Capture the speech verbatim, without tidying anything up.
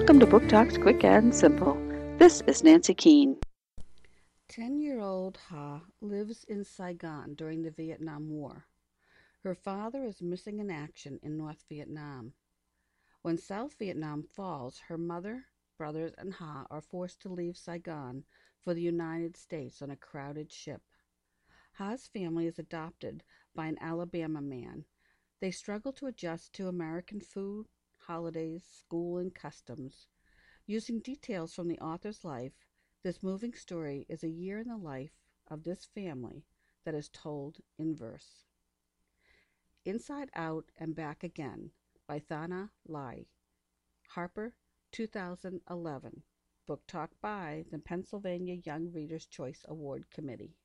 Welcome to Book Talks Quick and Simple. This is Nancy Keene. Ten-year-old Ha lives in Saigon during the Vietnam War. Her father is missing in action in North Vietnam. When South Vietnam falls, her mother, brothers, and Ha are forced to leave Saigon for the United States on a crowded ship. Ha's family is adopted by an Alabama man. They struggle to adjust to American food, holidays, school, and customs. Using details from the author's life, this moving story is a year in the life of this family that is told in verse. Inside Out and Back Again by Thana Lai. Harper, two thousand eleven. Book Talk by the Pennsylvania Young Readers' Choice Award Committee.